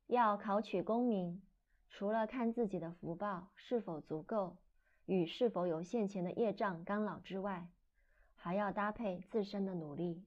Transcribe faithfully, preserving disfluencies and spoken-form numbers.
要考取功名，除了看自己的福报是否足够，与是否有现前的业障干扰之外，还要搭配自身的努力。